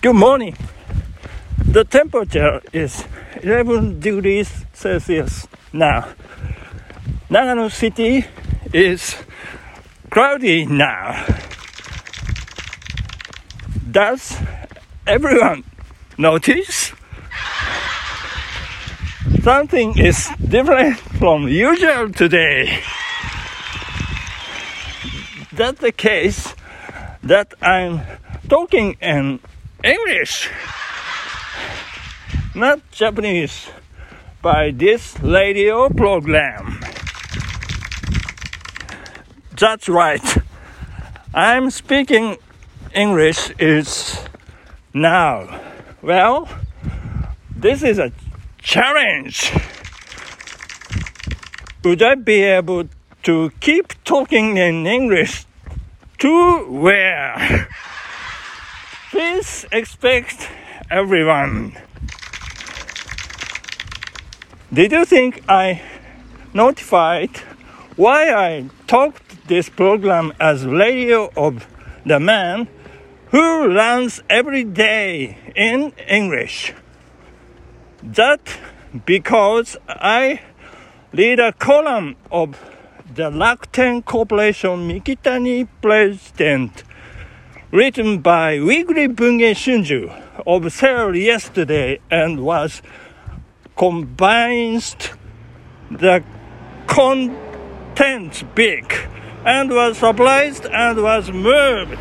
Good morning. The temperature is 11 degrees Celsius now. Nagano City is cloudy now. Does everyone notice? Something is different from usual today. That's the case that I'm talking in English, not Japanese, by this radio program. That's right. I'm speaking English is now. Well, this is a challenge. Would I be able to keep talking in English to where? Please expect everyone. Did you think I notified why I talked this program as Radio of the Man who runs every day in English? That because I read a column of the Rakuten Corporation Mikitani President written by Weekly Bunge Shunju of sale yesterday and was convinced the contents big and was surprised and was moved.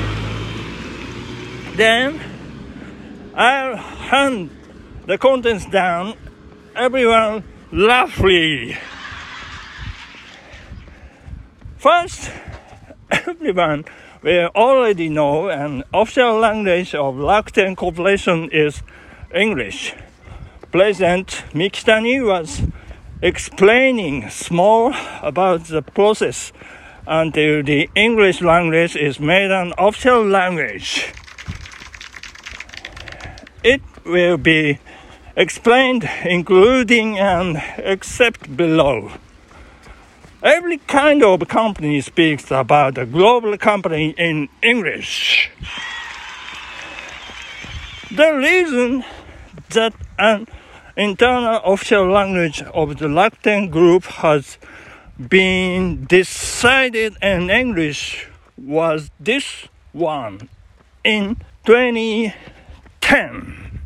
Then I'll hand the contents down, everyone laughing. First, everyone will already know an official language of Rakuten Corporation is English. President Mikitani was explaining small about the process until the English language is made an official language. It will be explained including and except below. Every kind of company speaks about a global company in English. The reason that an internal official language of the Rakuten Group has been decided in English was this one in 2010.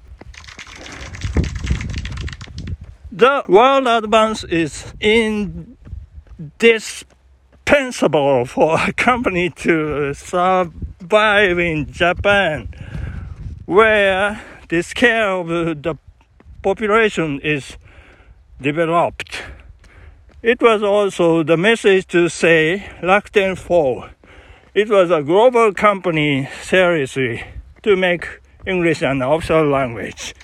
The world advance is indispensable for a company to survive in Japan, where the scale of the population is developed. It was also the message to say Rakuten 4. It was a global company seriously to make English an official language.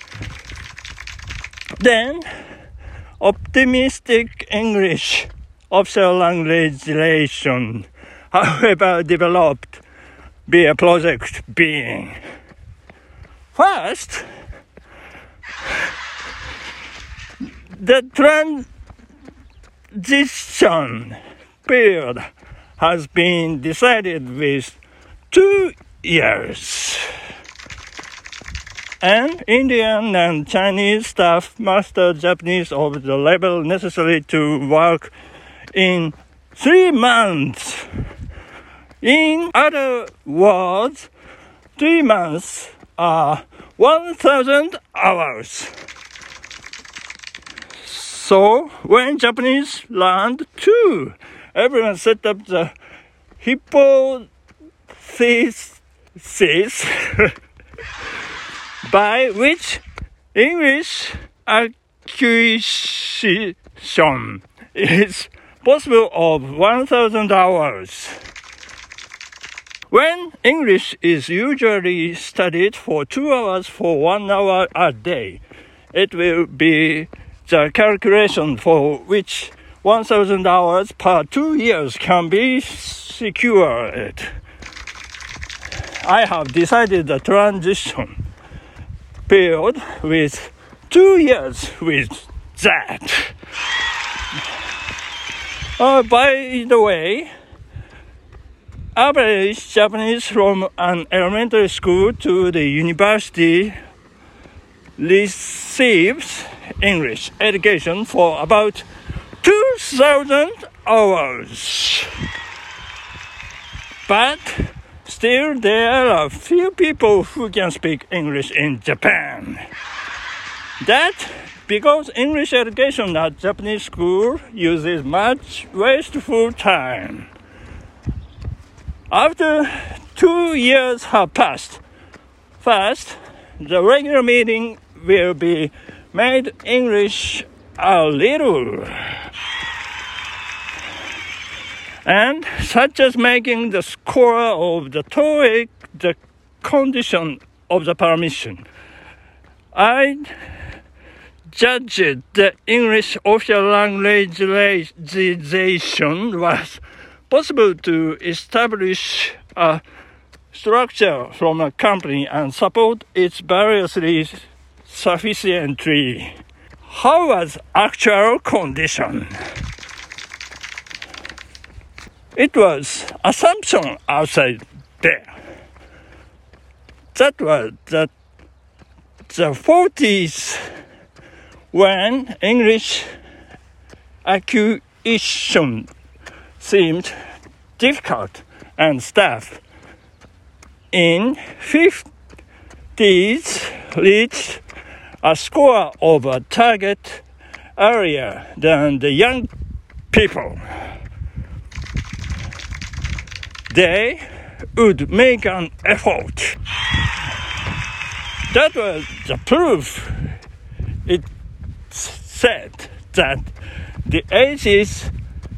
Then, optimistic English official language relation, however developed, be a project being. First, the transition period has been decided with 2 years. And Indian and Chinese staff master Japanese of the level necessary to work in 3 months. In other words, 3 months are 1,000 hours. So when Japanese learned too, everyone set up the hypothesis by which English acquisition is possible of 1,000 hours. When English is usually studied for 2 hours for 1 hour a day, it will be the calculation for which 1,000 hours per 2 years can be secured. I have decided the transition period with 2 years with that. By the way, average Japanese from an elementary school to the university receives English education for about 2,000 hours. But still, there are few people who can speak English in Japan. That because English education at Japanese school uses much wasteful time. After 2 years have passed, first, the regular meeting will be made English a little, and such as making the score of the TOEIC the condition of the permission. I judged the English official language legislation was possible to establish a structure from a company and support it variously sufficiently. How was actual condition? It was assumption outside there. That was the 40s when English acquisition seemed difficult and staff in 50s reached a score of a target earlier than the young people. They would make an effort. That was the proof. It said that the age is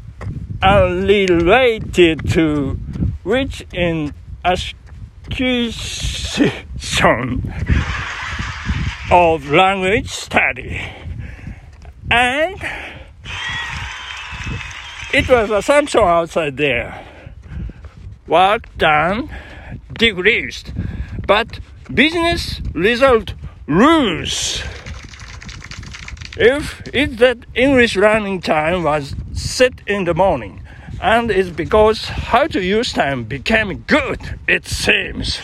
unrelated to which in acquisition of language study, and it was assumption outside there. Work done decreased, but business result rose. If it's that English learning time was set in the morning, and it's because how to use time became good, it seems.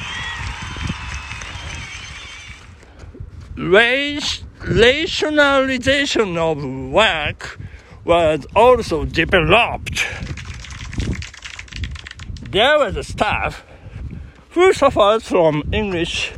Rationalization of work was also developed. There was a staff who suffered from English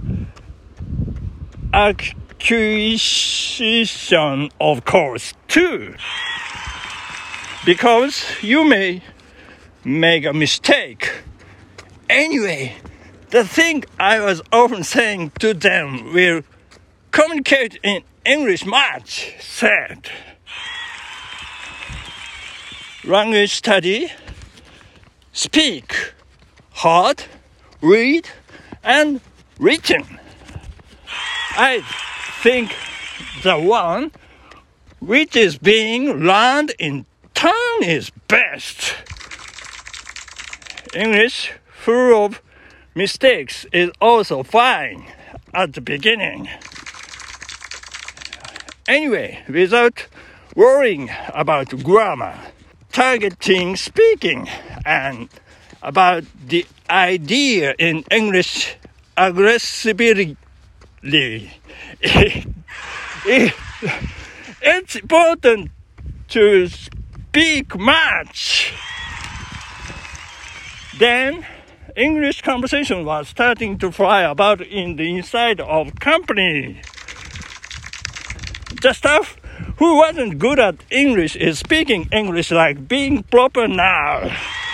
acquisition, of course, too. Because you may make a mistake. Anyway, the thing I was often saying to them will communicate in English much, said. Language study, speak, heard, read, and written. I think the one which is being learned in turn is best. English full of mistakes is also fine at the beginning. Anyway, without worrying about grammar, targeting speaking, and about the idea in English aggressively, it's important to speak much. Then English conversation was starting to fly about in the inside of company. The staff who wasn't good at English is speaking English like being proper now.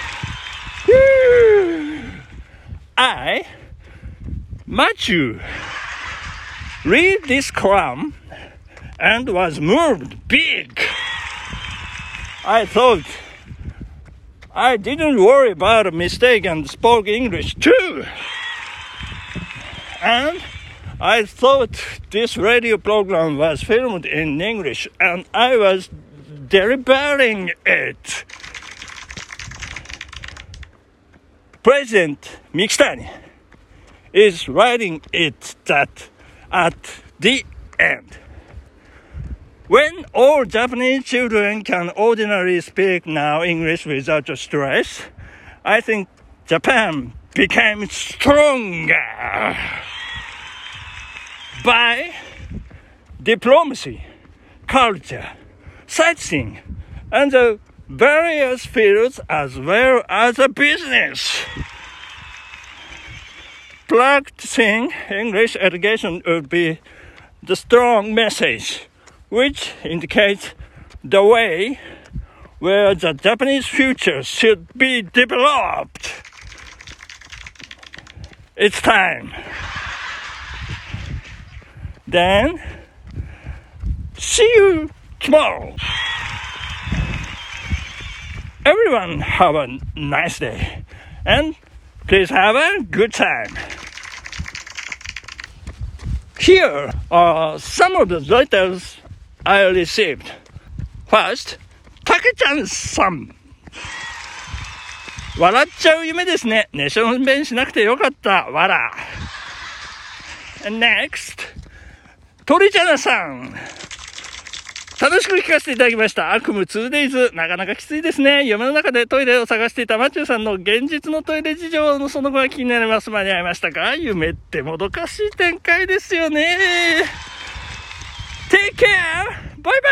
I, Matthew, read this column and was moved big. I thought I didn't worry about a mistake and spoke English too. And I thought this radio program was filmed in English and I was delivering it. President Mikitani is writing it that at the end, when all Japanese children can ordinarily speak now English without stress, I think Japan became stronger by diplomacy, culture, sightseeing, and the various fields as well as a business. Practicing English education would be the strong message which indicates the way where the Japanese future should be developed. It's time. Then, see you tomorrow. Everyone have a nice day and please have a good time. Here are some of the letters I received. First, たけちゃんさん。笑っちゃう夢ですね。寝しょんべんしなくてよかった。わら。Next、鳥ちゃなさん。楽しく聞かせていただきました。悪夢 2days。なかなかきついですね。夢の中でトイレを探していたマチューさんの現実のトイレ事情のその後が気になります。間に合いましたか？夢ってもどかしい展開ですよね。Take care! バイバイ